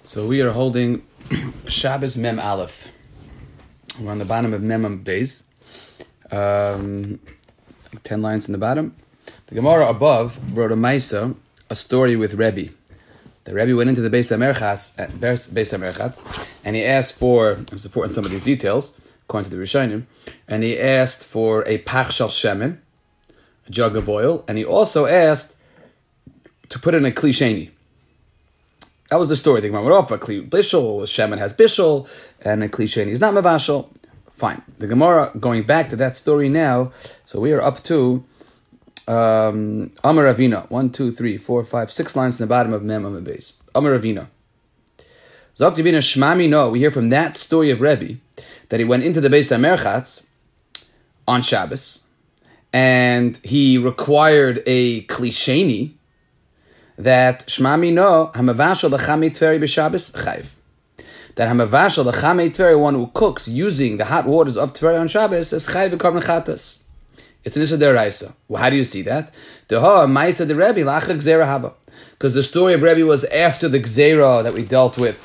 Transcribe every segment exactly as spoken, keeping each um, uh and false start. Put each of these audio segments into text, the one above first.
So we are holding Shabbos Mem Aleph. We're on the bottom of Mem Beis. Um, like ten lines in the bottom. The Gemara above wrote a Maisa, a story with Rebbe. The Rebbe went into the Beis HaMerchatz, at Beis HaMerchatz, and he asked for, I'm supporting some of these details, according to the Rishonim, and he asked for a Pach Shel Shemen, a jug of oil, and he also asked to put in a Kli Sheni. That was the story. The Gemara went off, but Kli Bishul, Shemen has Bishul, and a Kli Sheni is not Mavashal. Fine. The Gemara, going back to that story now, so we are up to um, Amar Ravina, one, two, three, four, five, six lines in the bottom of Mem Amar Beis. Amar Ravina. Zok Ravina Shmami no, we hear from that story of Rebbe, that he went into the Beis HaMerchatz on Shabbos, and he required a Kli Sheni, that Shmami no, Hamavashal l'chamei tveri b'Shabbos chayv. That Hamavashal l'chamei tveri, one who cooks using the hot waters of Tveri on Shabbos, is chayv b'korban chatas. It's an issue deraisa. Well, how do you see that? Deha ma'isa de Rebbe la'achar gzera haba. Because the story of Rebbe was after the gzera that we dealt with.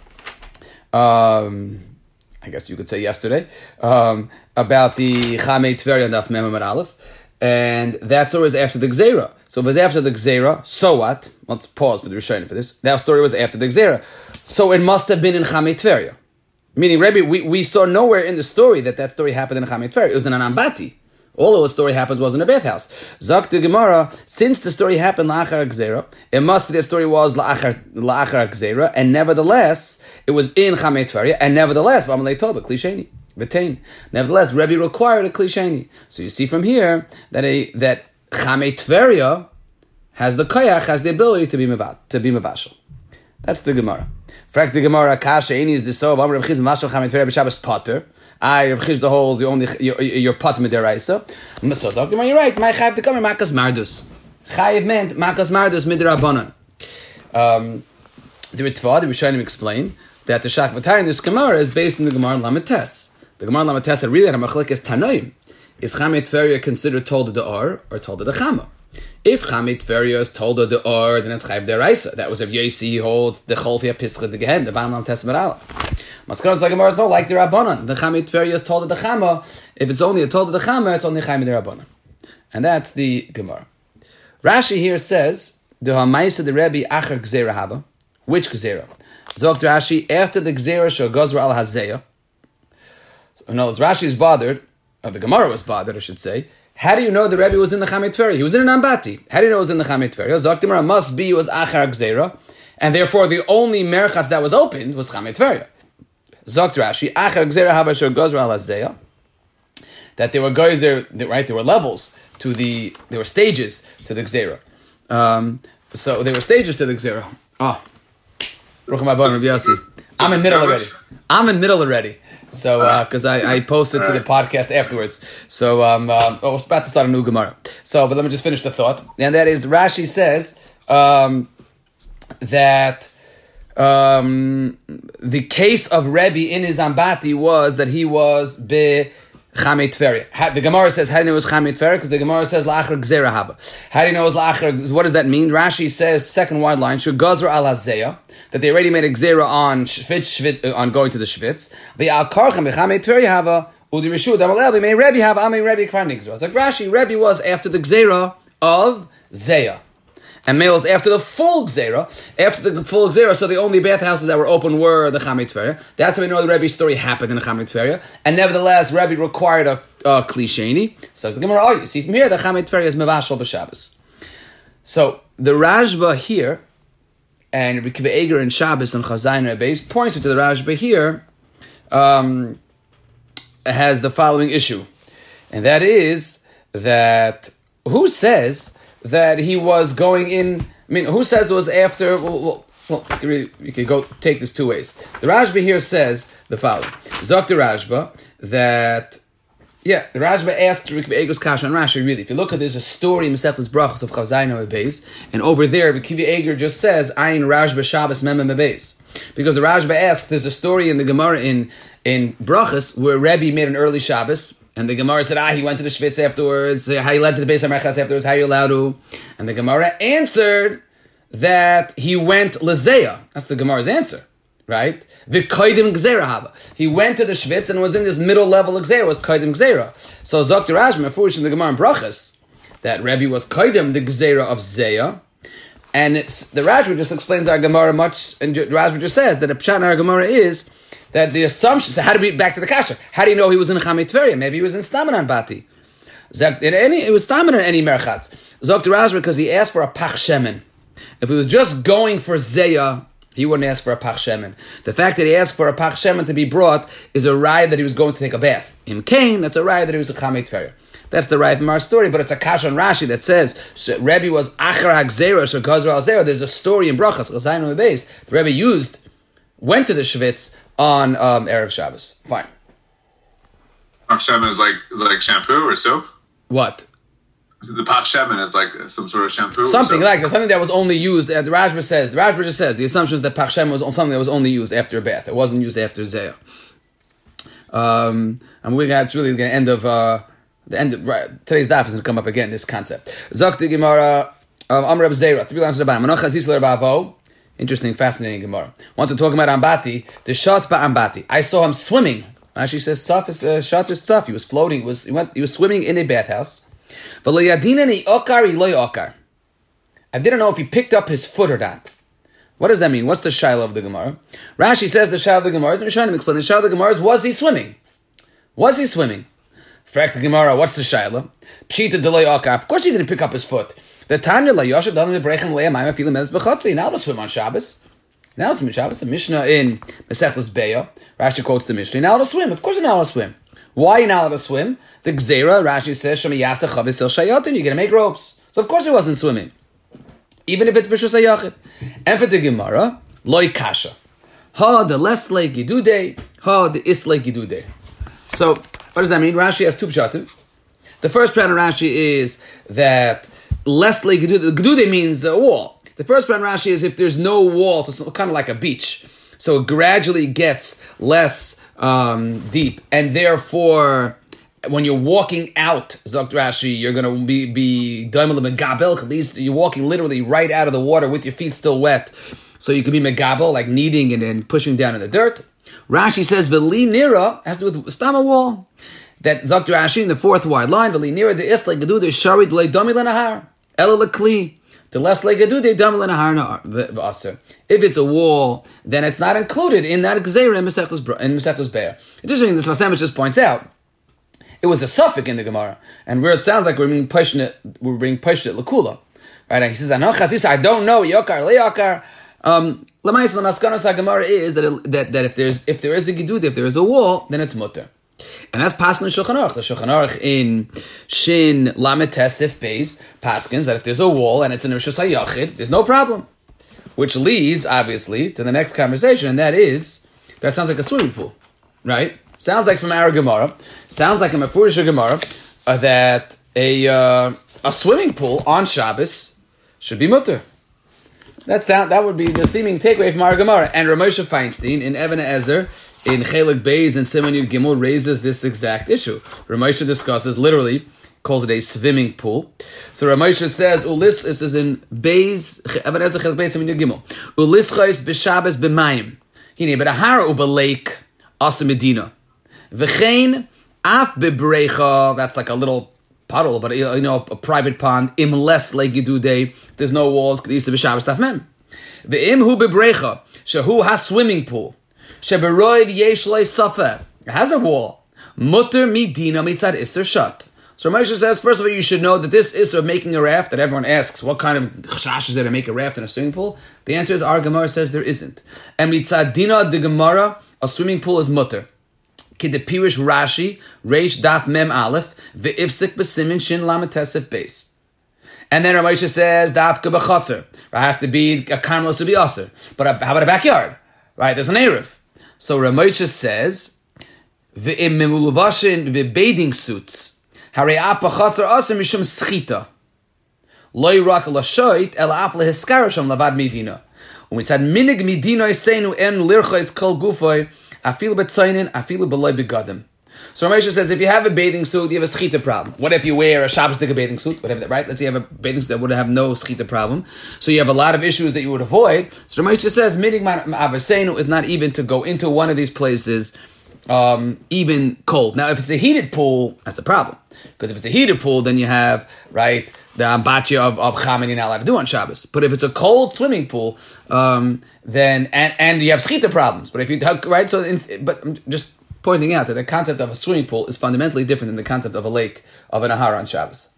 Um, I guess you could say yesterday, um, about the chamei tveri on Daf Mem Amud Aleph. And that story was after the Gzera. So if it was after the Gzera, so what? Let's pause for the Rishonim for this. That story was after the Gzera. So it must have been in Chamei Tveria. Meaning, Rebbe, we, we saw nowhere in the story that that story happened in Chamei Tveria. It was in an Ambati. All of the story happens was in a bathhouse. Zak the Gemara, since the story happened la'achar Gzera, it must be the story was la'achar, la'achar Gzera, and nevertheless, it was in Chamei Tveria, and nevertheless, v'amalei toba, Kli Sheni. Nevertheless, Rebbe required a Kli Sheni. So you see from here that a that Chamei Tveria has the koyach, has the ability to be mevad, to be mevashal. That's the Gemara. Frak the Gemara, kasha eni is the so of Amar Rav Chizda mevashal Chamei Tveria b'Shabbos potter. I Rav Chizda holds you only your your potter midiraisa. So so you're right. My chayav to come makas mardus. Chayav meant makas mardus midirabanan. Um, the Ritva, the Rishonim explain that the Shach Matar in this Gemara is based on the Gemara Lamed Tes. The Gemara Lamed Tes that really had a machlekes Tanoim. Is Chamei Tveria considered told the or or told the Chama? If Chamei Tveria is told the or, then it's Chayav Deraisa. That was if Yossi he holds the Cholfia Pischa the Gehen, the Bam Lamed Tes Aleph. Maskaron like Gemara is no like the Rabbanon. The Chamei Tveria is told the Chama. If it's only a told the Chama, it's only Chayav the Rabbanon, and that's the Gemara. Rashi here says the Hamaisa the Rebbe Achar Gzera Haba. Which Gzera? Zogt Rashi after the Gzera Shel Gozra Al Hazeya. So, no, Rashi is bothered, or the Gemara was bothered, I should say. How do you know the Rebbe was in the Chamei Tveria? He was in an Ambati. How do you know he was in the Chamei Tveria? Zok Gemara must be was Achar Gzera, and therefore the only Merchatz that was opened was Chamei Tveria. Zok Rashi Achar Gzera Haba Shel Gozra Al Hazeya. That there were guys there, right? There were levels to the, there were stages to the Gzera. Um, so there were stages to the Gzera. Oh, Rucham Abban Rabbi Yossi. I'm in middle already. I'm in middle already. So, because uh, I, I posted to the podcast afterwards. So, um, uh, I was about to start a new Gemara. So, but let me just finish the thought. And that is, Rashi says um, that um, the case of Rebbe in his Ambati was that he was be Chamei Tveria. The Gemara says, how do you know it was Chamei Tveria? Because the Gemara says, La'achar Gzera Haba. How do you know it was La'achar? What does that mean? Rashi says, second wide line, Shul Gozra Al Hazeya, that they already made a Gzera on Shvitz, Shvitz, on going to the Shvitz. The Al Karchem, Chamei Tveria Haba, Udi Rishud, Amalel, may Rebbe Haba, Amei Rebbe Kvar Nigzera. It's like Rashi, Rebbe was after the Gzera of Zeya. And males after the full Gzera, after the full Gzera, so the only bathhouses that were open were the Chamei Tveria. That's how we know the Rebbe's story happened in the Chamei Tveria. And nevertheless, Rebbe required a, a Kli Sheni. Says the Gemara, oh, you see from here, the Chamei Tveria is Mevashal b'Shabbos. So the Rashba here, and Rebbe Kiva Eger in Shabbos and Chazayin Rebbe's points to the Rashba here, um, has the following issue. And that is that who says that he was going in, I mean, who says it was after, well, well, well you can go take this two ways. The Rashba here says the following. Zok the Rashba, that, yeah, the Rashba asked Rebbe Eger's Kasha and Rashi, really. If you look at, there's a story in Mesechtas Brachos of Chavzayin Beis, and over there, Rebbe Eger just says, Ayin Rashba Shabbos Mem Beis. Because the Rashba asked, there's a story in the Gemara in, in Brachos where Rebbe made an early Shabbos, and the Gemara said, ah, he went to the Shvitz afterwards. How he led to the Beis HaMerchatz afterwards? How are you allowed to? And the Gemara answered that he went Lezeya. That's the Gemara's answer, right? V'koidim gzeira haba. He went to the Shvitz and was in this middle level gzeira, was koidim gzeira. So Zokter Rashba, Mefurish in the Gemara in Brachas, that Rebbe was koidim the gzeira of Zeya, and it's, the Rashba just explains our Gemara much, and the Rashba just says that the Pshat in our Gemara is that the assumption, so how to be back to the Kasha, how do you know he was in Chamei Tveria? Maybe he was in Stamanan Bati. In any, it was Stamanan in any Merchatz. Zokter Rashba, because he asked for a Pach Shemen. If he was just going for Zeya, he wouldn't ask for a Pach Shemen. The fact that he asked for a Pach Shemen to be brought is a raya that he was going to take a bath. In Cain, that's a raya that he was a Chamei Tveria. That's the raya from our story, but it's a Kasha on Rashi that says Rebbe was Achar HaGzera Shekazra Al-Zera. There's a story in Brachas, Chazayim Beis. The Rebbe used, went to the Shvitz on um, Erev Shabbos. Fine. Pach Shemen is like, is like shampoo or soap? What? The Pach Shemen is like some sort of shampoo? Something like that. Something that was only used, uh, the Rashba says, the Rashba just says, the assumption is that Pach Shemen was something that was only used after a bath. It wasn't used after Zeya. Um, and we're going to, it's really the end of, uh, the end of, right, today's daf is going to come up again, this concept. Zakti Gemara, Amr Reb Zera, three lines of the bottom. Manoch Hazis Ler Bavo. Interesting, fascinating Gemara. Want to talk about Ambati, the shot ba Ambati. I saw him swimming. Actually says, Tzaf is, uh, shot is Tzaf. He was floating, he was, he went, he was swimming in a bathhouse. I didn't know if he picked up his foot or not. What does that mean? What's the shaila of the Gemara? Rashi says the shaila of the Gemara is, I'm trying to explain, the shaila of the Gemara is, was he swimming? Was he swimming? Frak the Gemara, what's the shaila? Pshita de akar. Of course he didn't pick up his foot. The Tanya la yosha dam lebrechen le'am I'm feeling medes b'chotzi. Now to swim on Shabbos. Now to swim on Shabbos. The Mishnah in Mesechus Beya. Rashi quotes the Mishnah. Now to swim. Of course you're not allowed to swim. Why are you not allowed to swim? The Gzeira, Rashi says, Shema Yasa Chavis El Shayatin, you're going to make ropes. So of course he wasn't swimming. Even if it's B'shus HaYachid. And for the Gemara, Loi Kasha. Ha, the less like Gidude, ha, the is like Gidude. So, what does that mean? Rashi has two pshatim. The first pshat in Rashi is that less like Gidude, Gidude means a wall. The first pshat in Rashi is if there's no wall, so it's kind of like a beach. So it gradually gets less um, deep, and therefore, when you're walking out, Zokt Rashi, you're going to be be daimel megabel. At least you're walking literally right out of the water with your feet still wet, so you can be megabel, like kneading and then pushing down in the dirt. Rashi says v'li nira has to do with stama wall. That Zokt Rashi in the fourth wide line v'li nira the isla gedu the sharid le dami lenahar ela lekli. The less like a do they dumb in a harna. If it's a wall, then it's not included in that gzeira in Mesechus Be'er. Interesting, this Vasem just points out it was a suffix in the Gemara, and where it sounds like we're being pushed it, we're being pushed it lakula, right? And he says, "I don't know yokar leyokar." Um, Lamais lamaskanos Gemara is that, it, that that if there's if there is a gedud, if there is a wall, then it's mutter. And that's Paskin in Shulchan Aruch. The Shulchan Aruch in Shin Lamed Tesif Beis Paskins that if there's a wall and it's in Rishus HaYachid, there's no problem. Which leads, obviously, to the next conversation, and that is, that sounds like a swimming pool, right? Sounds like from our Gemara, sounds like a Mefurish Gemara, uh, that a uh, a swimming pool on Shabbos should be mutter. That sound that would be the seeming takeaway from our Gemara. And Ramosha Feinstein in Even Ezer in Chelik Beis and Siman Yud Gimel raises this exact issue. Ramosha discusses, literally, calls it a swimming pool. So Ramosha says, Ulis, this is in Beis, Even Ezer Chelik Beis Siman Yud Gimel. Ulischais b'Shabbos b'mayim. Hine, but a hara uba lake, asa medina. V'chein af b'brecha, that's like a little puddle, but you know, a private pond, im less like Gidude, there's no walls, Kedisa b'Shabbos tafmem. V'im hu b'brecha, shehu has swimming pool. Sheberoiv yesh lei safa. It has a wall. Mutter midina mitzad iser shut. So Moshe says, first of all, you should know that this iser of making a raft, that everyone asks, what kind of chashash is there to make a raft in a swimming pool? The answer is, our Gemara says there isn't. And mitzad dina de Gemara, a swimming pool is mutter. Ki de pirish Rashi, reish daf mem aleph, ve'ifsik b'simin shin lamet tesef beis. And then Ramosha says, daf k'b'chotzer. It has to be, a carmelos to be aser. But a, how about a backyard? Right, there's an Erev. So Ramosha says, ve'im memuluvashin be'bading suits, harei apa chotzer aser mishum schita. Loi rak lashoit, el af lehiskarasham lavad medina. When we said, minig medina isenu en lirchois kol gufoy, afilu b'tzainin, afilu b'loi begadim. So Ramesha says, if you have a bathing suit, you have a schita problem. What if you wear a Shabbos Dika bathing suit? Whatever that, right? Let's say you have a bathing suit that would have no schita problem. So you have a lot of issues that you would avoid. So Ramesha says, midig ma'avasenu is not even to go into one of these places um, even cold. Now, if it's a heated pool, that's a problem. Because if it's a heated pool, then you have, right, the ambachi of, of chamin you're not allowed to do on Shabbos. But if it's a cold swimming pool, um, then, and, and you have schita problems. But if you, right, so, in, but I'm just pointing out that the concept of a swimming pool is fundamentally different than the concept of a lake, of an ahara on Shabbos.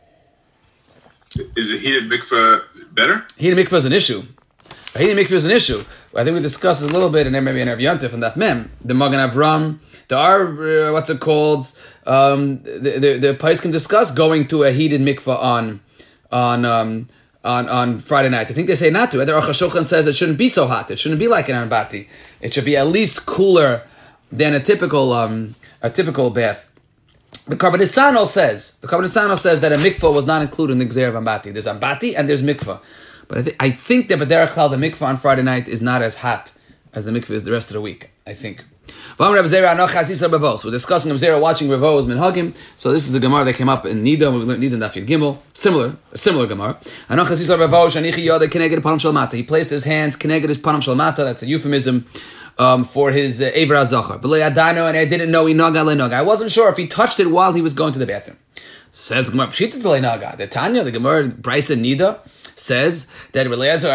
Is a heated mikveh better? Heated mikveh is an issue. A heated mikveh is an issue. I think we discussed it a little bit, and then maybe in Rav Yontif and that mem. The Magen Avram, there are, uh, what's it called, um, the, the, the Pais can discuss going to a heated mikveh on, on, um, on, on Friday night. I think they say not to. The Aruch HaShulchan says it shouldn't be so hot. It shouldn't be like an Anbati. It should be at least cooler than a typical, um, a typical bath. The Karbanisano says, the Karbanisano says that a mikveh was not included in the Gzeir of Ambati. There's Ambati and there's mikveh. But I, th- I think that B'derech Klal, the mikveh on Friday night is not as hot as the mikveh is the rest of the week, I think. We're discussing Rav Zera watching Ravo's Minhagim. So this is a Gemara that came up in Nida. We learned Nida and Daf Yud Gimel. Similar, a similar Gemara. He placed his hands keneged his panam shalmata. That's a euphemism um, for his uh, Eivra Zachar. And I didn't know he naga lenaga. I wasn't sure if he touched it while he was going to the bathroom. Says the Gemara Pshita lenaga. The Tanya, the Gemara Brisa Nida says that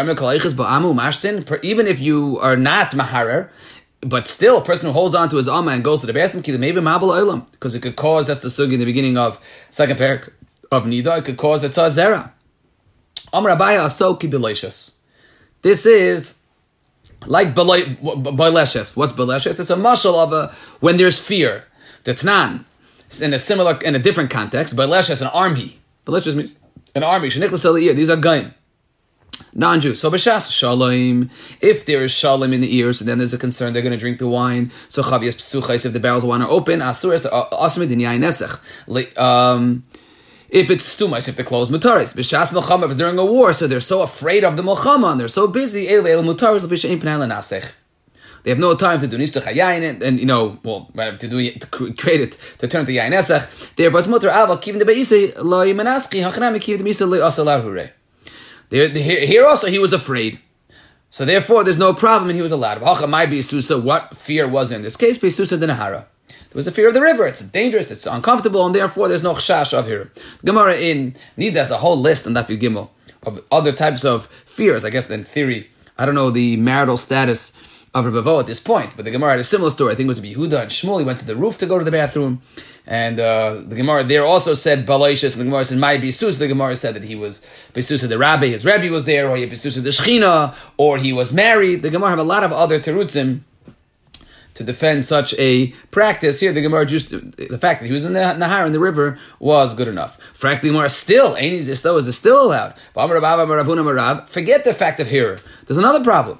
even if you are not maharer, but still, a person who holds on to his amma and goes to the bathroom, because it could cause, that's the sugi in the beginning of second parak of Nida, it could cause a tzazera. Amar Abaya asoki beleshes. This is like beleshes. What's beleshes? It's a mashal of a, when there's fear. The Tnan, in a similar, in a different context, beleshes, an army. Beleshes means an army. These are gaim. Non-Jews. So b'shas shalom. If there is shalom in the ears, so then there's a concern they're going to drink the wine. So chavias psuchais, if the barrels of wine are open, asur es asmid in yain nesech. Um, if it's stumais, if the clothes mutaris. B'shas milchama, if it's during a war, so they're so afraid of the milchama and they're so busy. El el mutaris l'fish ein pnei lenasech. They have no time to do nisach hayayin and, and you know, well, right, to do it, to create it, to turn to yain nesech. Therefore, it's mutar ava kivin de beisei lo yimanaschi hachanami kivin de beisei lo asalar hurei. Here also he was afraid. So therefore there's no problem and he was allowed. What fear was in this case? There was a fear of the river. It's dangerous, it's uncomfortable, and therefore there's no chash of here. Gemara in Nida has a whole list on Daf Yud Gimel of other types of fears. I guess in theory, I don't know the marital status of Rebbe Vo at this point, but the Gemara had a similar story. I think it was Yehuda and Shmuel. He went to the roof to go to the bathroom. And uh, the Gemara there also said Balaishis, and the Gemara said my Bisus. The Gemara said that he was Bisus of the Rabbi, his Rebbe was there, or he Bisus of the Shechina, or he was married. The Gemara have a lot of other terutzim to defend such a practice. Here, the Gemara just the fact that he was in the Nahar in the river was good enough. Frankly, Gemara still ain't is still is still allowed. Forget the fact of here. There's another problem.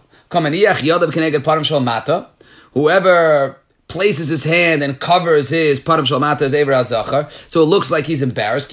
Whoever places his hand and covers his Param Shalmata's Eivra Zachar, so it looks like he's embarrassed.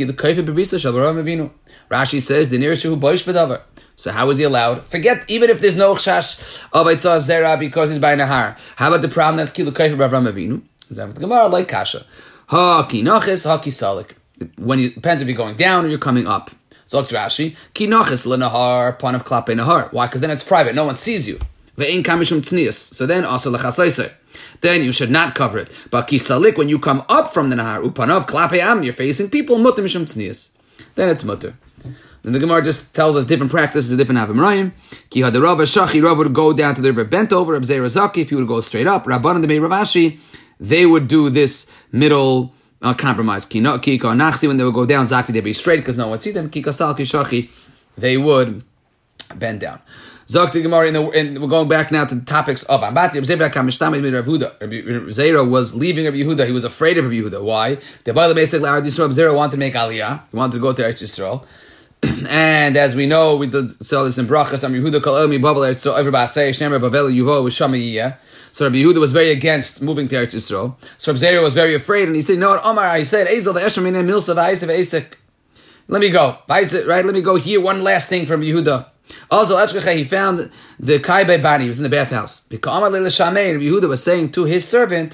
Rashi says, the nearest who boish bedavar. So how is he allowed? Forget, even if there's no chash of Eitzah Zera because he's by Nahar. How about the problem that's Kilu Kaifa Bavram Avinu? Is that the Gemara like Kasha? Ha ki nachis, ha ki salik. When you, depends if you're going down or you're coming up. So Rashi, ki nachis lenahar, pan of klape nahar. Why? Because then it's private, no one sees you. Ve'in kamishum tznius. So then also lechasaisei. Then you should not cover it. But kisalik, when you come up from the nahar, upanav klape am, you're facing people, mutter mishum tznius. Then it's mutter. Then the Gemara just tells us different practices, different Avim Ki had the Rav Shachi, Rav would go down to the river bent over, Reb Zera Zaki, if he would go straight up, Rabban and the Meir Ravashi, they would do this middle uh, compromise. Ki ka nachsi, when they would go down, Zaki, they'd be straight because no one would see them. Ki kasal ki shachi, they would bend down. Zok the Gemara, and we're going back now to the topics of Ambati. Zera was leaving Rabbi Yehuda. He was afraid of Rabbi Yehuda. Why? The Bible basically, Rabbi Zera wanted to make Aliyah. He wanted to go to Eretz Yisrael. And as we know, we did sell this in Brachas. Rabbi Yehuda kol elmi babel. So everybody say Shnemer Bavel Yuvo with Shamayiyah. So Rabbi Yehuda was very against moving to Eretz Yisrael. So Rabbi Zera was very afraid, and he said, "No, Omar." He said, "Ezel the Esher Minei Milsa v'Aisef Eisek." Let me go, right? Let me go here. One last thing from Yehuda. Also, he found the Kaibe Bani. He was in the bathhouse. Rabbi Yehuda was saying to his servant,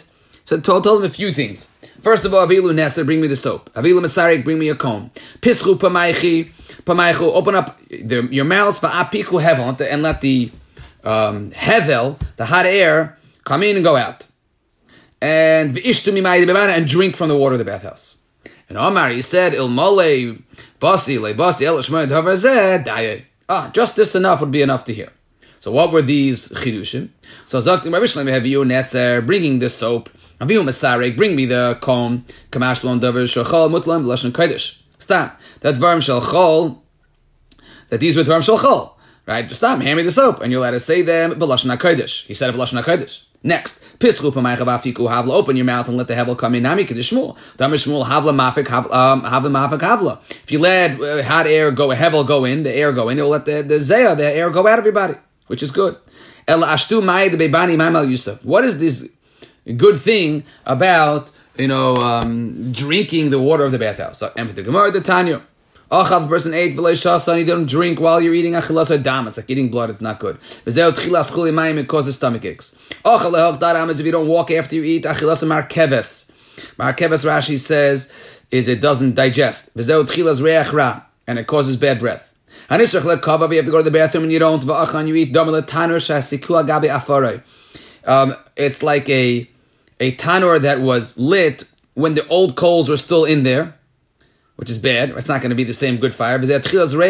So told, told him a few things. First of all, Avilu Neser, bring me the soap. Avilu Masarik, bring me a comb. Pischu Pamaychi, Pamaychu, open up the, your mouths for Apiku Hevel, and let the um, Hevel, the hot air, come in and go out. And V'ishtu Mimaydi Bebana, and drink from the water of the bathhouse. And Omar, he said, Il Mole, Basi, Le Basi, El Shmoy, Davarzeh, Daye. Ah, just this enough would be enough to hear. So what were these chidushim? So Zaktim Rabbi Shlomo have you Netzer bringing the soap. Avihu Masarek, bring me the comb. Kamash Lon Davar Shachol Mutlam Lashon Kodesh. Stop. That Dvarim Shalchol. That these were Dvarim Shalchol. Right? Just stop. Hand me the soap, and you're allowed to say them. B'Lashon Kodesh. He said B'Lashon Kodesh. Next, Pischu Pamaycha Vafiku Havla. Open your mouth and let the hevel come in. Nami Kedishmul. Damar Shmuel Havla Mafik Havla Mafik Havla. If you let uh, hot air go, hevel go in, the air go in, it will let the the zeh, the air go out of your body, which is good. El Ashtu Mai the Bebani Mamal Yusuf. What is this good thing about, you know, um, drinking the water of the bathhouse? So, empty the Gemara, the Tanya. Achav, person ate v'lei shasa, you don't drink while you're eating achilas adam. It's like eating blood, it's not good. V'zeu tchilas chuli mayim, it causes stomach aches. Achav lehok daram is if you don't walk after you eat achilas markeves. Markeves, Rashi says, is it doesn't digest. V'zeu tchilas reach ra, and it causes bad breath. Hanishach lekava, you have to go to the bathroom and you don't. V'achan, you eat damel tanur shasiku agabi afarei. Um, it's like a a tanur that was lit when the old coals were still in there, which is bad. It's not going to be the same good fire. It's going to be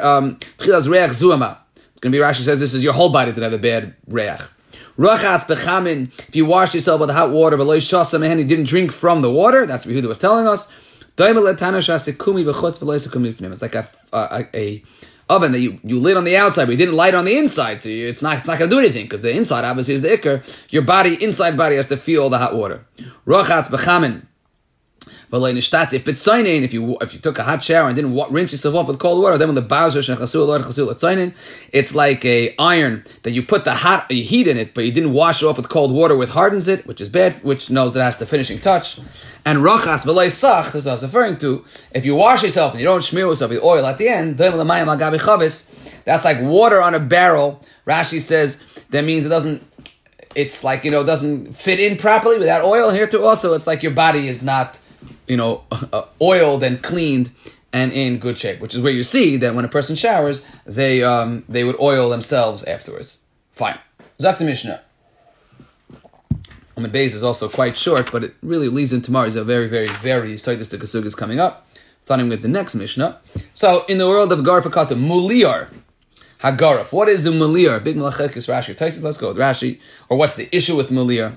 Rashi says this is your whole body to have a bad reach. If you wash yourself with hot water, but you didn't drink from the water, that's what Yehuda was telling us. It's like a, a, a oven that you, you lit on the outside, but you didn't light on the inside, so you, it's not it's not going to do anything, because the inside obviously is the ikr. Your body, inside body, has to feel the hot water. If you if you took a hot shower and didn't rinse yourself off with cold water, then when the bowser it's like a iron that you put the hot you heat in it, but you didn't wash it off with cold water, which hardens it, which is bad, which knows that it has the finishing touch. And rachas v'lei sach, this is what I was referring to. If you wash yourself and you don't smear yourself with oil at the end, that's like water on a barrel. Rashi says that means it doesn't. It's like, you know, doesn't fit in properly without oil. Here too, also, it's like your body is not, you know, uh, oiled and cleaned and in good shape, which is where you see that when a person showers, they um, they would oil themselves afterwards. Fine. Zak the Mishnah. Amid Beis is also quite short, but it really leads into tomorrow. It's a very, very, very Saitis Kasug is coming up, starting with the next Mishnah. So, in the world of Garfakata, Muliar, Hagaraf. What is the Muliar? Big Malachekis Rashi. Taisis, let's go with Rashi. Or what's the issue with Muliar?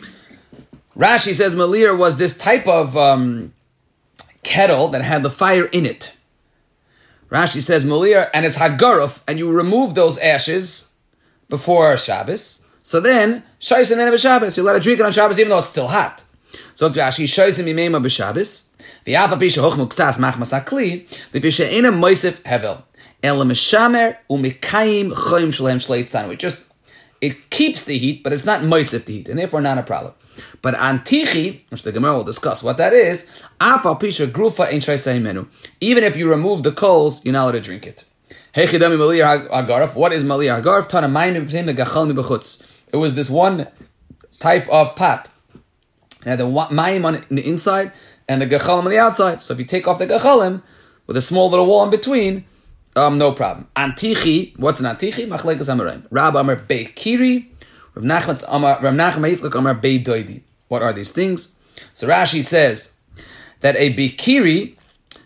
Rashi says Malir was this type of um, kettle that had the fire in it. Rashi says Malir, and it's Hagaruf, and you remove those ashes before Shabbos. So then, Shaisin and Shabbos, you let it drink it on Shabbos even though it's still hot. So Rashi, Shaisin Mimema b'Shabbos, v'yafa pisha hochmu k'tzas machmas hakli, v'pisha ena moisef hevel, elam mishamer u'mikayim choyim shalem shleitzanu. It just, it keeps the heat, but it's not moisef the heat, and therefore not a problem. But antichi, which the Gemara will discuss what that is, afa pisha grufa ein shaisai menu. Even if you remove the coals, you're not allowed to drink it. Hechidami maliyar hagaraf. What is maliyar hagaraf? Tana mayim b'fnim megachal mi b'chutz. It was this one type of pot. It had the mayim on the inside and the gachalim on the outside. So if you take off the gachalim with a small little wall in between, um, no problem. Antichi. What's an antichi? Machlekes Amoraim. Rab Amar Beikiri. Rav Nachman Yitzchak Amar Bei Doidi. What are these things? So Rashi says that a bikiri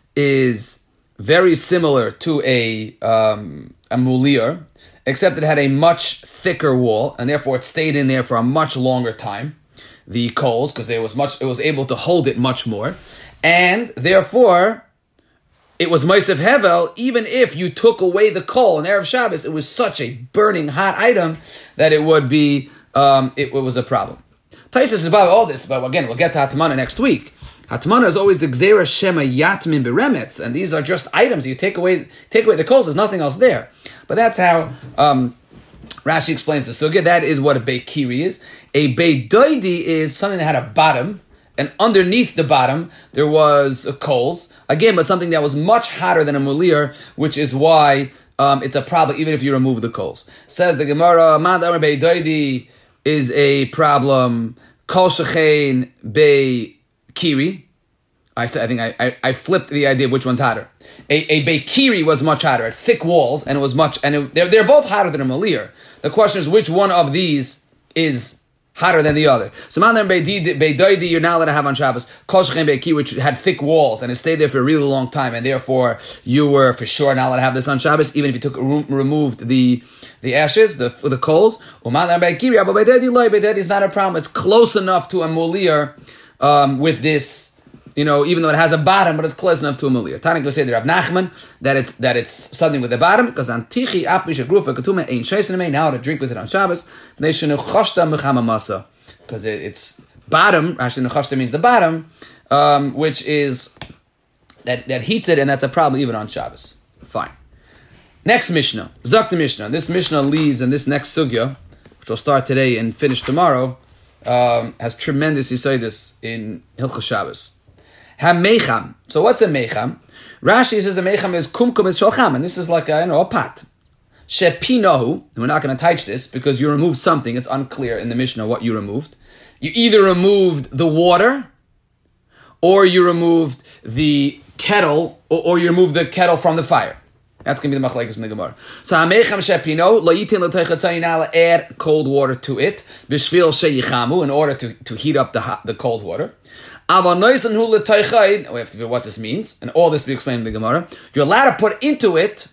is very similar to a um, a mulir, except it had a much thicker wall, and therefore it stayed in there for a much longer time. The coals, because it was much, it was able to hold it much more, and therefore it was Moisef Hevel. Even if you took away the coal in Erev Shabbos, it was such a burning hot item that it would be, um, it, it was a problem. Taisus is about all this, but again, we'll get to Hatmana next week. Hatmana is always the Gzera Shema Yatmin Beremetz, and these are just items. You take away, take away the coals, there's nothing else there. But that's how um, Rashi explains the sugya. That is what a Beikiri is. A Beidoidi is something that had a bottom, and underneath the bottom, there was uh, coals. Again, but something that was much hotter than a mulir, which is why um, it's a problem, even if you remove the coals. Says the Gemara, Mad Amar Beidoidi is a problem. Kol shechein beikiri. I said, I think I, I, I flipped the idea of which one's hotter. A, a beikiri was much hotter, had thick walls, and it was much, and it, they're, they're both hotter than a malir. The question is, which one of these is hotter than the other? So, man, beidoidi, you're not allowed to have on Shabbos. Kol shechein beikiri, which had thick walls, and it stayed there for a really long time, and therefore, you were for sure not allowed to have this on Shabbos, even if you took removed the the ashes, the the coals. Uman beikiri, but beidoidi loy, beidodi is not a problem. It's close enough to a malir um, with this. You know, even though it has a bottom, but it's close enough to a mulir. Tanik will say the Rav Nachman that it's that it's something with the bottom because antichi apmisha grufa katuma ain't shaysin now to drink with it on Shabbos. Because it, it's bottom. Actually, nechashta means the bottom, um, which is that that heats it, and that's a problem even on Shabbos. Fine. Next Mishnah, Zok the Mishnah. This Mishnah leads, and this next sugya, which will start today and finish tomorrow, um, has tremendous yisaidus in Hilchos Shabbos. Ha-mecham. So what's a mecham? Rashi says a mecham is kumkum is shalcham, and this is like a, you know, a pot. Shepinahu, and we're not going to touch this because you removed something. It's unclear in the Mishnah what you removed. You either removed the water, or you removed the kettle, or, or you removed the kettle from the fire. That's going to be the machlekes in the Gemara. So ha-mecham shepino lo yitin l'toichatzayin ala, add cold water to it b'shvil sheyichamu, in order to, to heat up the hot, the cold water. We have to figure what this means, and all this we explained in the Gemara. You're allowed to put into it,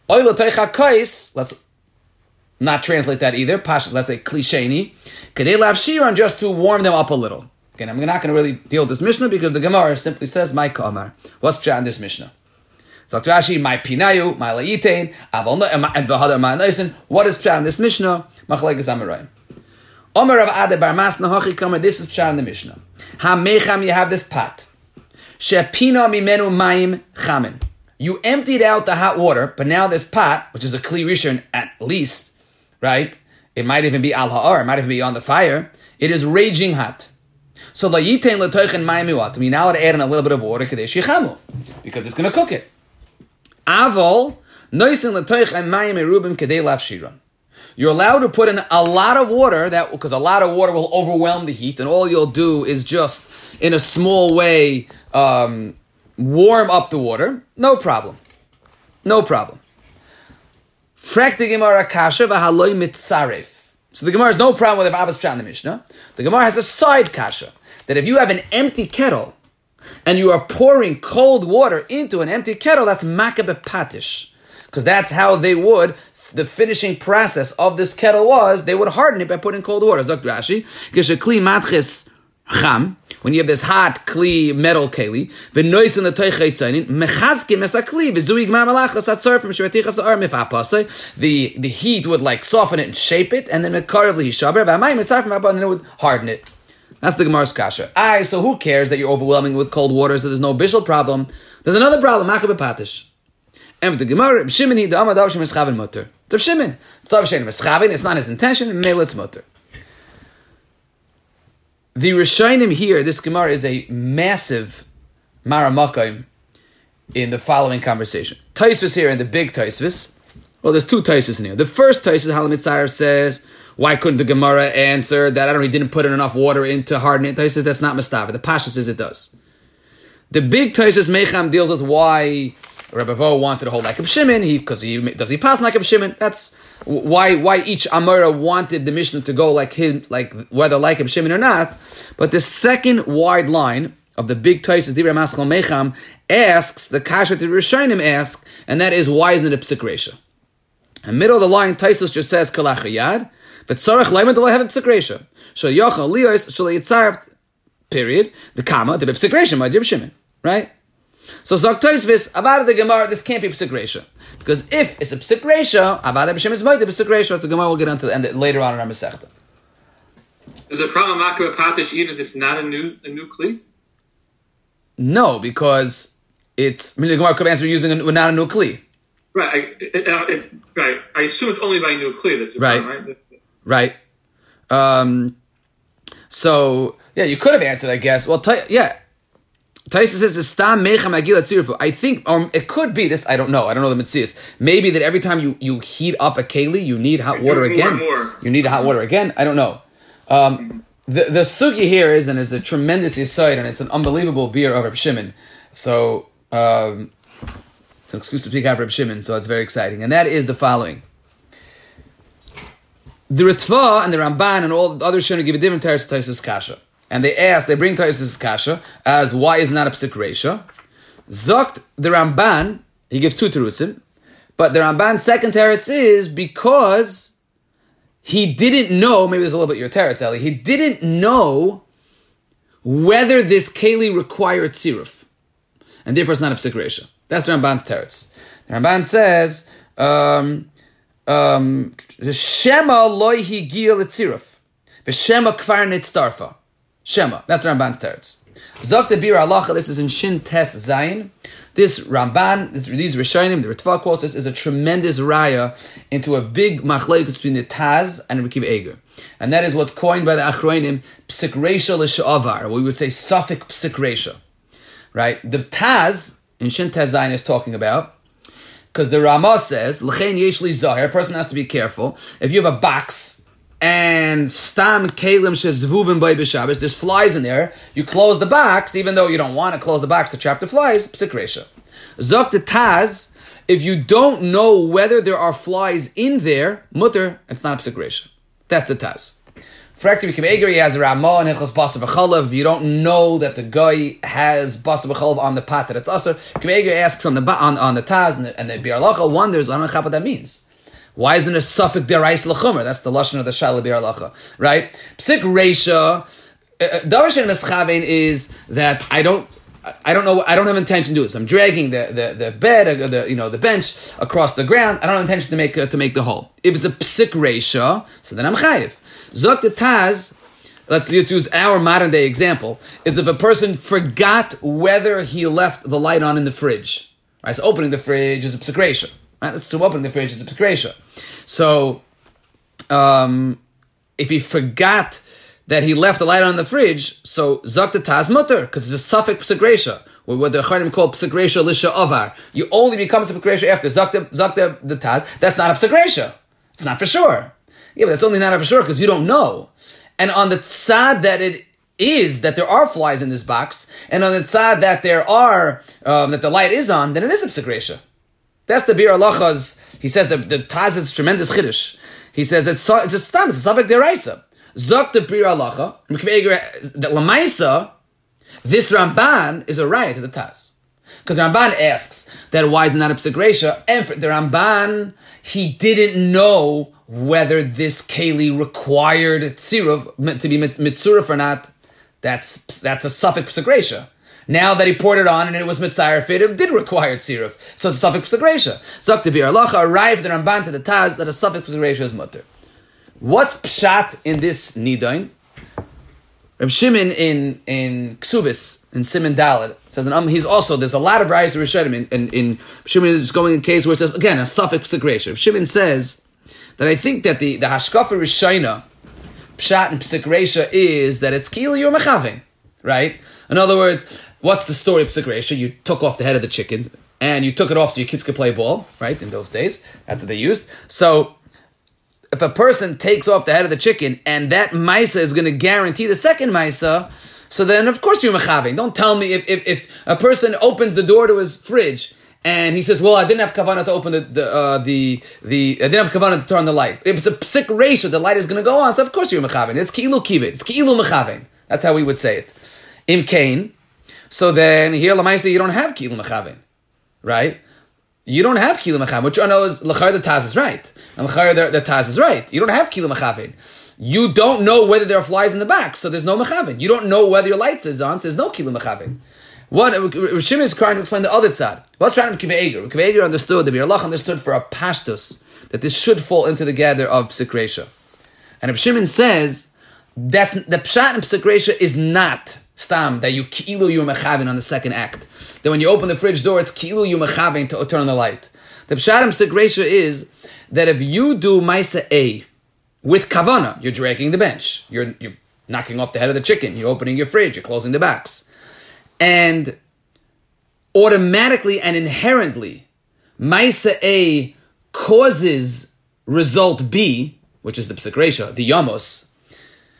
let's not translate that either, let's say klisheni, just to warm them up a little. Again, I'm not going to really deal with this Mishnah because the Gemara simply says, my kamar. What's pshat in this Mishnah? So Rashi, my pinayu, my layitain, and v'hadar my naisin. What is pshat in this Mishnah? Machlekes amarayim. Omer of Ade Bar Masna Hachi Kamer, this is pshat in the Mishnah. Ha-mecham, you have this pot. Shepina mimenu mayim chamin. You emptied out the hot water, but now this pot, which is a kli rishon at least, right? It might even be al ha'ar, it might even be on the fire. It is raging hot. So la yitain l'toichen mayim miwat. We now add in a little bit of water kadesh yichamu, because it's going to cook it. Avol noisin l'toichen mayim erubim kadei lafshiran. You're allowed to put in a lot of water, that because a lot of water will overwhelm the heat, and all you'll do is just, in a small way, um, warm up the water. No problem. No problem. Frak the Gemara kasha v'haloi mitzaref. So the Gemara has no problem with the Abbas pshat in the Mishnah. The Gemara has a side kasha, that if you have an empty kettle, and you are pouring cold water into an empty kettle, that's makabeh patish. Because that's how they would... The finishing process of this kettle was they would harden it by putting cold water. Zok Rashi, kli matches cham, when you have this hot kli metal keli, v'nois in the toichaytzainin mechazkim es akli v'zui gmar malachas atzar from shvetichas ar mifapasay. The the heat would like soften it and shape it, and then mekaravli hishaber v'amayim etzar from abba, and then it would harden it. That's the Gemara's kasha. Aye, so who cares that you're overwhelming with cold water? So there's no bishul problem. There's another problem. Makabeh patish. And the Gemara, Shimon he the Amadav Shem Eschaven Mutter. It's Shimon. It's not his intention, and maybe it's Mutter. The Rishonim here, this Gemara is a massive Maramakayim in the following conversation. Taisvis here and the big Taisvis. Well, there's two Taisvis in here. The first Taisvis, Halamitzarev says, why couldn't the Gemara answer that I don't know, he didn't put in enough water in to harden it? Taisvis, that's not Mastava. The Pasha says it does. The big Taisvis Mecham deals with why Rebbe Vo wanted to hold like Reb Shimon, he because he does he pass like Reb Shimon. That's why why each Amora wanted the Mishnah to go like him, like whether like Reb Shimon or not. But the second wide line of the big Taisus Divrei Maschal Mecham asks the kasha that Rishonim ask, and that is why isn't it a psik reisha? In the middle of the line, Taisus just says kalach yad, but tzarich leiman do have a psik reisha. Shal yochal lios shal yitzarv period the comma the psik reisha by Reb Shimon, right? So Zok Tosfos, Avada the Gemara, this can't be Psik Reisha. Because if it's a Psik Reisha, Avada B'Shem is Moed, the Psik Reisha, so Gemara will get into it later on in our Masechta. Is the problem Makabeh Patish even if it's not a new a new Kli? No, because it's, I mean, the Gemara could answer using a, not a new Kli. Right, I, it, uh, it, right. I assume it's only by new Kli that's a right. problem, right? Right. Um, so, yeah, you could have answered, I guess. Well, t- yeah. Taisa says, "Stam mecham agil atzirfu." I think, or it could be this. I don't know. I don't know the mitzias. Maybe that every time you, you heat up a keli, you need hot water more again. More. You need hot water again. I don't know. Um, the the sugi here is, and is a tremendous yesod, and it's an unbelievable beer of Reb Shimon. So um, it's an exclusive speak of Reb Shimon, so it's very exciting. And that is the following: the Ritva and the Ramban and all the other Shimon give a different teretz to Taisus Kasha, and they ask, they bring Taisus Kasha as why is not a psik reisha. Zokt the Ramban, he gives two terutzim, but the Ramban's second teretz is because he didn't know, maybe there's a little bit your teretz, Eli, he didn't know whether this keli required tziruf, and therefore it's not a psik reisha. That's the Ramban's teretz. The Ramban says, um, um, Shema loy higia letziruf, v'shema kvar nitztarfa. Shema, that's the Ramban's teretz. Zok the Bir Halacha, this is in Shin Tes Zayin. This Ramban, this, these Rishonim, the Ritva quotes this, is a tremendous raya into a big machlokes between the Taz and Rekiv Eger. And that is what's coined by the Achronim, Psik Reisha L'Sha'avar, we would say Safik Psik Reisha. Right? The Taz, in Shin Tes Zayin, is talking about, because the Ramah says, L'chein yesh li zahir, a person has to be careful. If you have a box, and stam kelim shezvuvim by b'Shabbos, there's flies in there, you close the box, even though you don't want to close the box to trap the flies, psik reisha. Zok the Taz, if you don't know whether there are flies in there, mutter, it's not a psik reisha. That's the Taz. Frakti Rekiv Eger, he has a Ramah and Hilchos Basa v'Chalav. You don't know that the guy has Basa v'Chalav on the pot that it's usher. Rekiv Eger asks on the on, on the Taz, and the, and the Bir Halacha wonders, I don't know what that means. Why isn't it Safik derais l'chumer? That's the lashon of the Shala Bir Halacha, right? Psik reisha, davar she'en meschavein is that I don't, I don't know, I don't have intention to do this. I'm dragging the the, the bed, uh, the you know the bench across the ground. I don't have intention to make uh, to make the hole. If it's a psik reisha, so then I'm chayiv. Zok the Taz. Let's use our modern day example. Is if a person forgot whether he left the light on in the fridge. Right, so opening the fridge is a psik reisha. Right, let's so opening the fridge is a psik reisha. So, um, if he forgot that he left the light on in the fridge, so zok the Taz mutter, because it's a suffix psik reisha, what the Charim call psik reisha lisha avar. You only become psik reisha after zok the, zok the, the Taz. That's not a psik reisha. It's not for sure. Yeah, but that's only not for sure because you don't know. And on the tzad that it is that there are flies in this box, and on the tzad that there are um, that the light is on, then it is a psik reisha. That's the Bir Halacha's. He says that the Taz is tremendous chiddush. He says it's it's a stam, it's a Safek deraisa. Zok the Bir Halacha, that Lamaisa, this Ramban is a riot to the Taz. Because the Ramban asks that why is it not a psik reisha, and for the Ramban, he didn't know whether this keli required tziruf to be mitzuruf or not. That's that's a Safek psik reisha. Now that he poured it on and it was mitzayir fit, it did require tziruf. So it's a Safek psik reisha. Zok the Bir Halacha arrived the Ramban to the Taz that a Safek psik reisha is mutter. What's pshat in this nidain? Reb Shimon in in Ksubis in Siman Daled says, and um, he's also there's a lot of rights to Rishonim in in, in Shimon is going in a case where it says again a Safek psik reisha. Reb Shimon says that I think that the the hashkafa rishayna pshat and psik reisha is that it's kilo you're mechavin, right? In other words, what's the story of psik reisha? You took off the head of the chicken and you took it off so your kids could play ball, right? In those days, that's what they used. So if a person takes off the head of the chicken and that maisa is going to guarantee the second maisa, so then of course you're mechavin. Don't tell me if, if if a person opens the door to his fridge and he says, "Well, I didn't have kavanah to open the the uh, the, the I didn't have kavanah to turn the light." If it's a psik reisha, the light is going to go on. So of course you're mechavin. It's ki'ilu kivit. It's ki'ilu mechavin. That's how we would say it. Im kain. So then here lamaisa you don't have ki'ilu mechavin, right? You don't have kilu mechavin, which I know is l'chayr the Taz is right, and l'chayr the, the Taz is right. You don't have kilu mechavin. You don't know whether there are flies in the back, so there's no mechavin. You don't know whether your light is on, so there's no kilu mechavin. What Shimon is trying to explain the other side. What's trying to Rekiv Eger? Rekiv Eger understood, the Bir Halacha understood for a pashtus that this should fall into the gather of psik reisha, and if Shimon says that's the pshat and psik reisha is not stam that you ki'ilu you mechavin on the second act. That when you open the fridge door, it's ki'ilu you mechavin to turn on the light. The pshatim psik reisha is that if you do maisa A with kavana, you're dragging the bench, you're you're knocking off the head of the chicken, you're opening your fridge, you're closing the box, and automatically and inherently, maisa A causes result B, which is the psik reisha, the yamos.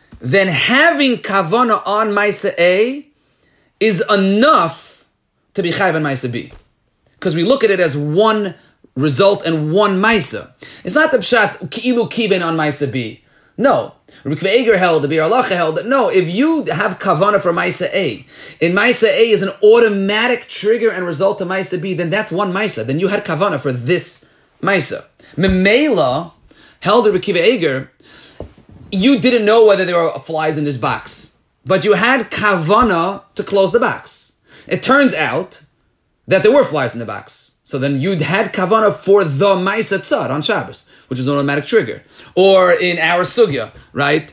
then having kavana on Maisa A is enough to be chayv on Maisa B. Because we look at it as one result and one Maisa. It's not the pshat ki'ilu kiben on Maisa B. No. Rabbi Akiva Eiger held, the Bir Halacha held that no, if you have kavana for Maisa A, and Maisa A is an automatic trigger and result to Maisa B, then that's one Maisa. Then you had kavana for this Maisa. Memela held Rabbi Akiva Eiger, you didn't know whether there were flies in this box, but you had kavana to close the box. It turns out that there were flies in the box. So then you'd had kavana for the Maisa Tzad on Shabbos, which is an automatic trigger. Or in our sugya, right?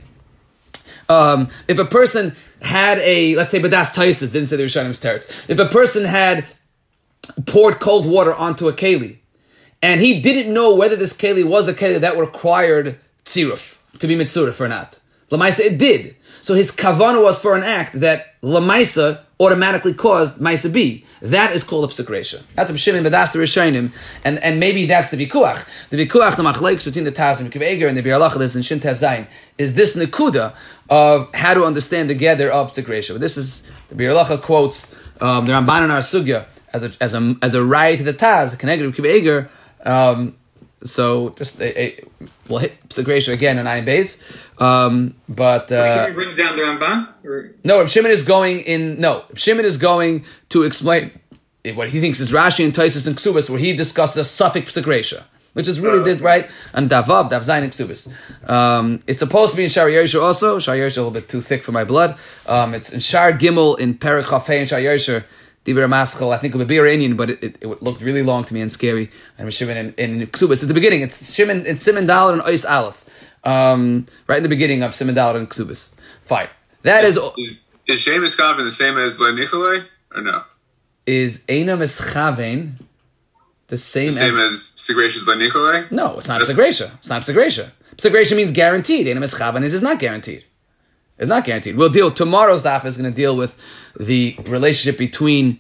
Um, if a person had a, let's say Badas Taisis, didn't say the Rishonim teretz. If a person had poured cold water onto a keli, and he didn't know whether this keli was a keli that required tziruf, to be mitzurif or not. Lamaisa, it did. So his kavana was for an act that Lamaisa automatically caused Maisa B. That is called a psik reisha. That's a b'shimim, but that's the Rishonim, and and maybe that's the vikuach. The vikuach, the machlekes between the Taz and Akiva Eiger and the Bir Halacha, this in Shin Tez Zayin, is this nekuda of how to understand the gather of psik reisha. But this is the Bir Halacha quotes um, the Ramban in our sugya as a as a as a right to the Taz, connected with Akiva Eiger. Um, so just a, a, we'll hit psik reisha again in Ayin Beis. Um, but uh, Shimon brings down the Ramban? Or? No, Reb Shimon is going in. No, Reb Shimon is going to explain what he thinks is Rashi and Taisus and Ksubas, where he discusses a suffix psik reisha, which is really uh, did right and Davav, Dav Zayin and Ksubas. Um, it's supposed to be in Shar Yersher also. Shar Yersher a little bit too thick for my blood. Um, it's in Shar Gimel in Perek Chafei and Shar Yersher. Divrei Maschel, I think of a beer Indian, but it, it, it looked really long to me and scary. And Reb Shimon in, in Ksubas at the beginning. It's Shimon in Siman Daled and Ois Aleph. Um, right in the beginning of Siman Daled and Ksubas. Fine. That is... Is, is Shemus Chaven the same as Lenichalei, or no? Is Eina Mischaven the same, the same as... as Segration Lenichalei? No, it's not Segresha. It's not Segresha. Segresha means guaranteed. Eina Mischaven is, is not guaranteed. It's not guaranteed. We'll deal... Tomorrow's daf is going to deal with the relationship between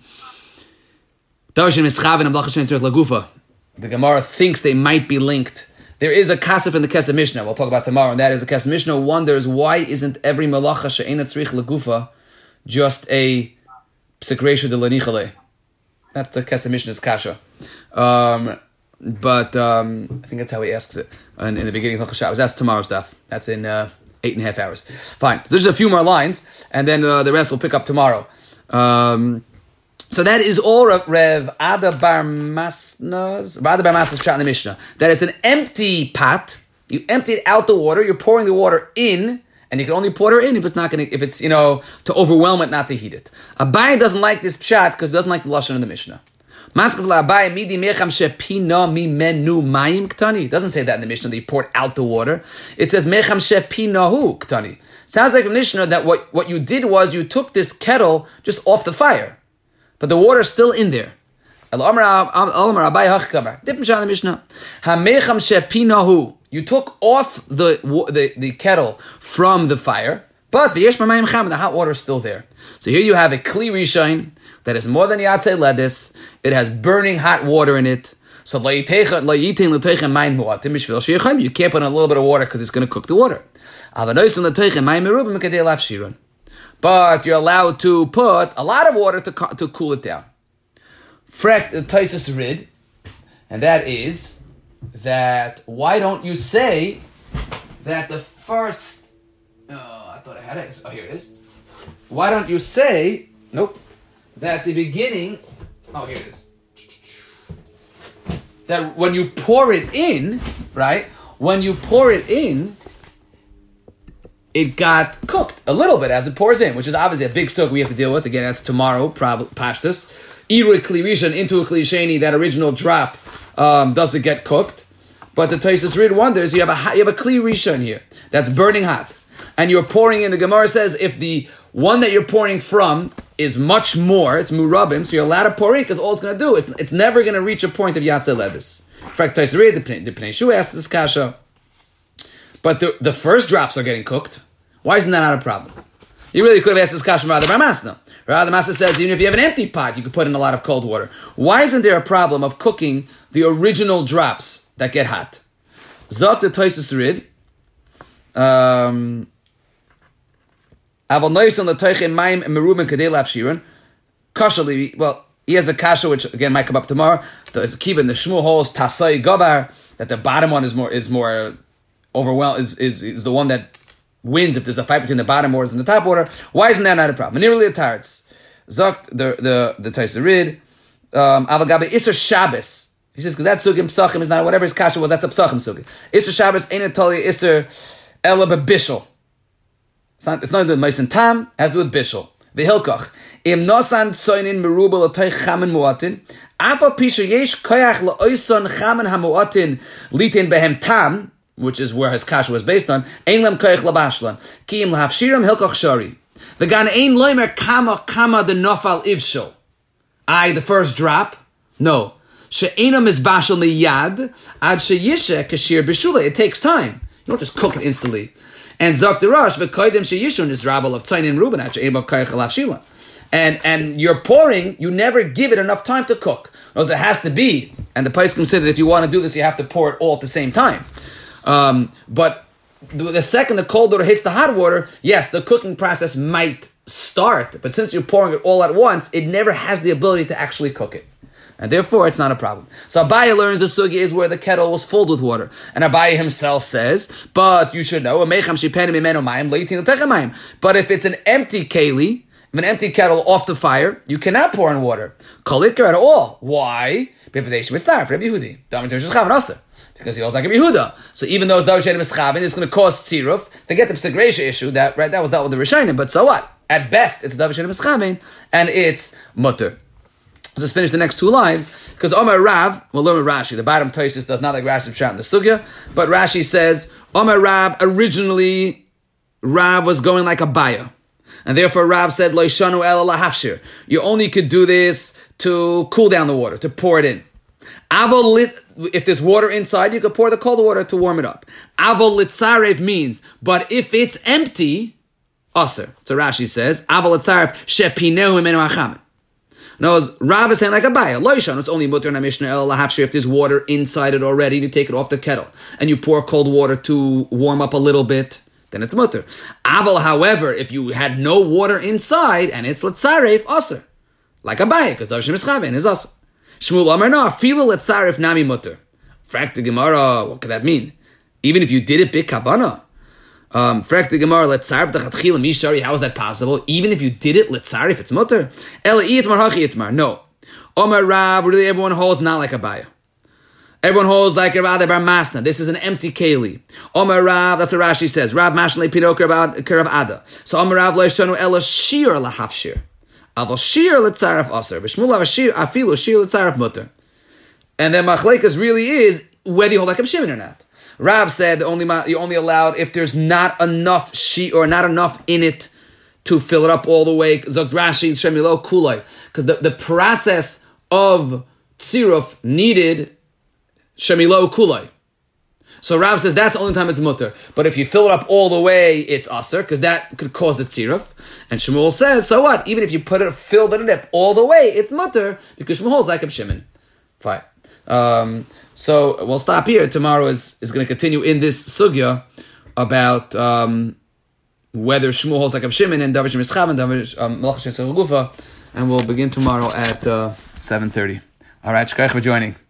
Darshan Mischaven and Blachas Shein Tzorech Lagufa. The Gemara thinks they might be linked. There is a kasef in the Kesef Mishnah, we'll talk about tomorrow, and that is the Kesef Mishnah wonders why isn't every malacha she'ena tzrich legufa just a psik reisha de lanichale. That's the Kesef Mishnah's kasha. Um, but um, I think that's how he asks it in, in the beginning of Hilchos Shabbos. That's tomorrow's stuff. That's in uh, eight and a half hours. Fine. So there's just a few more lines, and then uh, the rest we'll pick up tomorrow. Um, So that is all Rev Ada Bar Masna's Ada Bar Masna's shot in the Mishnah. That it's an empty pot. You emptied out the water. You're pouring the water in, and you can only pour it in if it's not going to, if it's you know to overwhelm it, not to heat it. Abai doesn't like this pshat because he doesn't like the lashon in the Mishnah. Abai midi mecham shepina mi menu mayim ktani. It doesn't say that in the Mishnah that you poured out the water. It says mecham shepinahu ktani. Sounds like a Mishnah that what what you did was you took this kettle just off the fire. But the water's still in there. You took off the, the, the kettle from the fire, but the hot water is still there. So here you have a kli rishain that is more than yatzei ledis. It has burning hot water in it. So you can't put in a little bit of water because it's going to cook the water. But you're allowed to put a lot of water to to cool it down. Frek the Taisus Rid, and that is that why don't you say that the first? Oh, I thought I had it. Oh, here it is. Why don't you say nope? That the beginning. Oh, here it is. That when you pour it in, right? When you pour it in. It got cooked a little bit as it pours in, which is obviously a big soak we have to deal with. Again, that's tomorrow, probably pashtus. Iru kli rishon into a kli sheni, that original drop um, doesn't get cooked. But the Taisus Rid wonders, you have a you have a kli rishon here that's burning hot, and you're pouring in. The Gemara says if the one that you're pouring from is much more, it's murabim, so you're allowed to pour in because all it's going to do is it's never going to reach a point of yaseh levis. In fact, Taisus Rid, the Pnei Shu asks this kasha. But the, the first drops are getting cooked. Why isn't that not a problem? You really could have asked this question from Radha Bar Masna. Radha Bar Masna says even if you have an empty pot, you could put in a lot of cold water. Why isn't there a problem of cooking the original drops that get hot? Zot the Taisus Rid. Um, Aval noisin l'toichin mayim meruben kadei lafshirin. Kashali, well, he has a kasha which again might come up tomorrow. The kiva in the Shmuel holds tasai gavar, that the bottom one is more is more overwhelmed is, is is the one that wins if there's a fight between the bottom waters and the top water. Why isn't that not a problem? Nearly a tarts. Zokt the the the Taisarid. Um Avagabe Isser Shabbos. He says because that sugim psachim is not whatever his kasha was, that's a psachim sugim. Isser Shabbos ain't Italia Isser Ela bebishel. It's not it's not the Mason Tam, it has to do with bishel. Vehilkach. Im nosan tsoinin merubel atoy chamen muatin. Afa pisha yesh koyach la'oison chamen hamuatin litin behem tam, which is where his kasha was based on. Ein lem koyach labashlan. Ki im lahafshiram hilkach shari. Vegan ein loimer kama kama the nofal ivshel. I, the first drop? No. She'enam is bashal miyad ad sheyishe kashir b'shula. It takes time. You don't just cook it instantly. And Zok Derash v'koydem sheyishun is rabal of tzayin Reuben ad she'en b'koyach lafshila. And and you're pouring, you never give it enough time to cook. Because it has to be, and the Paiskim said that if you want to do this, you have to pour it all at the same time. Um, but the, the second the cold water hits the hot water, yes, the cooking process might start, but since you're pouring it all at once, it never has the ability to actually cook it. And therefore, it's not a problem. So Abaye learns the sugya is where the kettle was filled with water. And Abaye himself says, but you should know, but if it's an empty keli, an empty kettle off the fire, you cannot pour in water. Kolikar at all. Why? Because he holds like Rabbi Yehuda. So even though it's David Mischabin, it's going to cause tziruf. Forget the Psagresha issue, that right, that was dealt with the Rishonim, but so what? At best, it's David Mischabin, and it's mutter. Let's finish the next two lines, because Omar Rav, we'll learn with Rashi. The bottom Tosfos does not like Rashi's pshat in the sugya, but Rashi says, Omar Rav, originally, Rav was going like a baya. And therefore Rav said, Lo yishanu ela lahafshir. You only could do this to cool down the water, to pour it in. Avol lit, if there's water inside, you could pour the cold water to warm it up. Avol litzarev means, but if it's empty, aser. So Rashi says, Avol litzarev shepineu imenu achamen. No, Rav is saying like a baya. Lo yishanu, it's only mutter in a mishnah ela lahafshir if there's water inside it already, you take it off the kettle. And you pour cold water to warm up a little bit. Then it's mutter. Aval, however, if you had no water inside and it's letzaref, aser. Like a bayik, because Darshan Mischaben is aser. Shmuel Amar no, fila letzaref nami mutter. Frak the Gemara, what could that mean? Even if you did it big kavana. Um, Frak the Gemara, letzaref dachatchila mishari, how is that possible? Even if you did it letzaref, it's mutter. Ela itmar hachi itmar, no. Omar Rav, really everyone holds not like a bayik. Everyone holds like Rav Bar Masna. This is an empty keli. Omer Rav, that's what Rashi says. Rav Mashnle Pinok Rav Ada. So Omer Rav lo yishanu ela shir lahafshir. Aval shir letzaref aser. V'shmul avashir afilu shir letzaref mutter. And then Machlekas really is whether you hold like a Shimon or not. Rav said only you only allowed if there's not enough shir or not enough in it to fill it up all the way. Zok Rashi Shemilo Kulai. Because the, the process of tziruf needed Shemilo kulai. So Rav says that's the only time it's mutter. But if you fill it up all the way, it's aser, because that could cause a tziruf. And Shmuel says, so what? Even if you put it, filled it up all the way, it's mutter, because Shmuel's like a Shimon. Fine. Um, so we'll stop here. Tomorrow is, is going to continue in this sugya about um, whether Shmuel holds like a Shimon and David Shemishchav and David Melach Shesel Gufa, and we'll begin tomorrow at uh, seven thirty. All right, shkayach for joining.